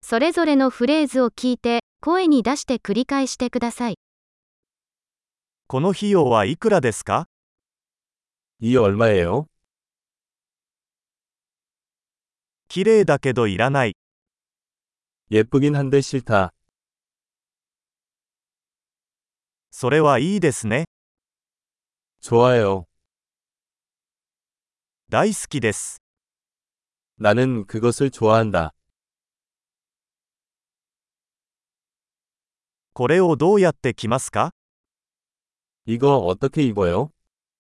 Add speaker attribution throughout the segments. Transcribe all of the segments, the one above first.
Speaker 1: それぞれのフレーズを聞いて、声に出して繰り返してください。
Speaker 2: この費用はいくらですか？
Speaker 3: 이 얼마예요?
Speaker 2: 綺麗だけどいらない。
Speaker 3: 예쁘긴 한데 싫다.
Speaker 2: それはいいですね。
Speaker 3: 좋아요.
Speaker 2: 大好きです。
Speaker 3: 나는 그것을 좋아한다.
Speaker 2: これをどうやって着ますか？
Speaker 3: 이거 어떻게 입어요?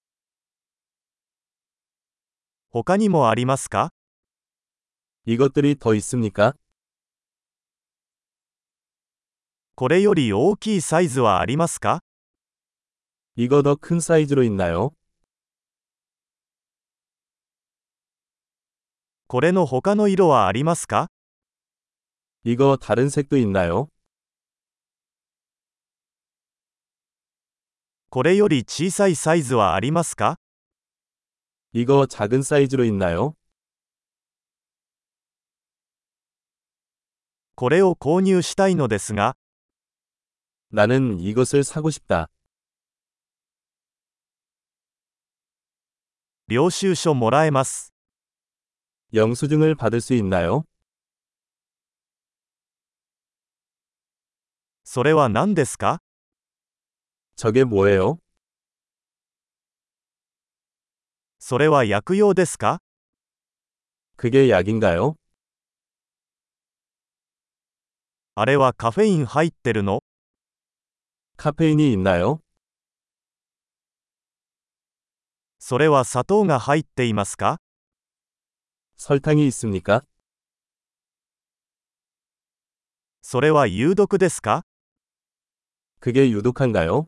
Speaker 2: 他にもありますか？
Speaker 3: 이것들이 더 있습니까?
Speaker 2: これより大きいサイズはありますか？
Speaker 3: 이거 더 큰 사이즈로 있나요?
Speaker 2: これの他の色はありますか？
Speaker 3: 이거 다른 색도 있나요?
Speaker 2: これより小さいサイズはありますか？
Speaker 3: 이거 작은 사이즈로 있나요?
Speaker 2: これを購入したいのですが、
Speaker 3: 나는 이것을 사고 싶다.
Speaker 2: 領収書もらえます。
Speaker 3: 영수증을 받을 수 있나요?
Speaker 2: それは何ですか？
Speaker 3: 저게 뭐예요?
Speaker 2: それは薬用ですか？
Speaker 3: 그게 약인가요?
Speaker 2: あれはカフェイン入ってるの？
Speaker 3: 카페인이 있나요?
Speaker 2: それは砂糖が入っていますか？
Speaker 3: 설탕이 있습니까?
Speaker 2: それは有毒ですか？
Speaker 3: 그게 유독한가요?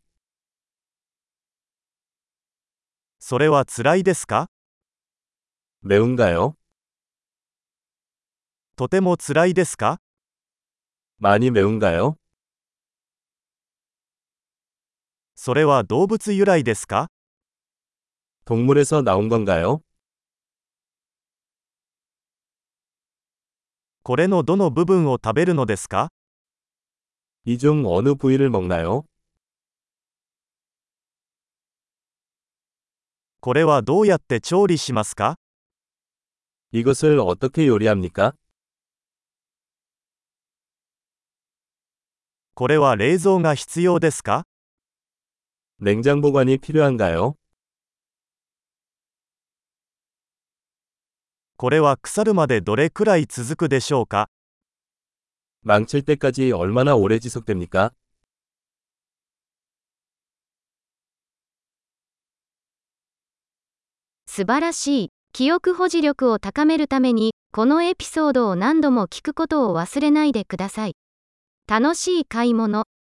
Speaker 2: それは辛いですか？
Speaker 3: 매운가요?
Speaker 2: とても辛いですか？
Speaker 3: 많이 매운가요?
Speaker 2: それは動物由来ですか？
Speaker 3: 동물에서 나온 건가요?
Speaker 2: これのどの部分を食べるのですか？
Speaker 3: 이 중 어느 부위를 먹나요?
Speaker 2: これはどうやって調理しますか？
Speaker 3: 이것을 어떻게 요리합니까?
Speaker 2: これは冷蔵が必要ですか？
Speaker 3: 냉장 보관이 필요한가요?
Speaker 2: これは腐るまでどれくらい続くでしょうか？
Speaker 3: 망칠 때까지 얼마나 오래 지속됩니까?
Speaker 1: 素晴らしい。記憶保持力を高めるために、このエピソードを何度も聞くことを忘れないでください。楽しい買い物。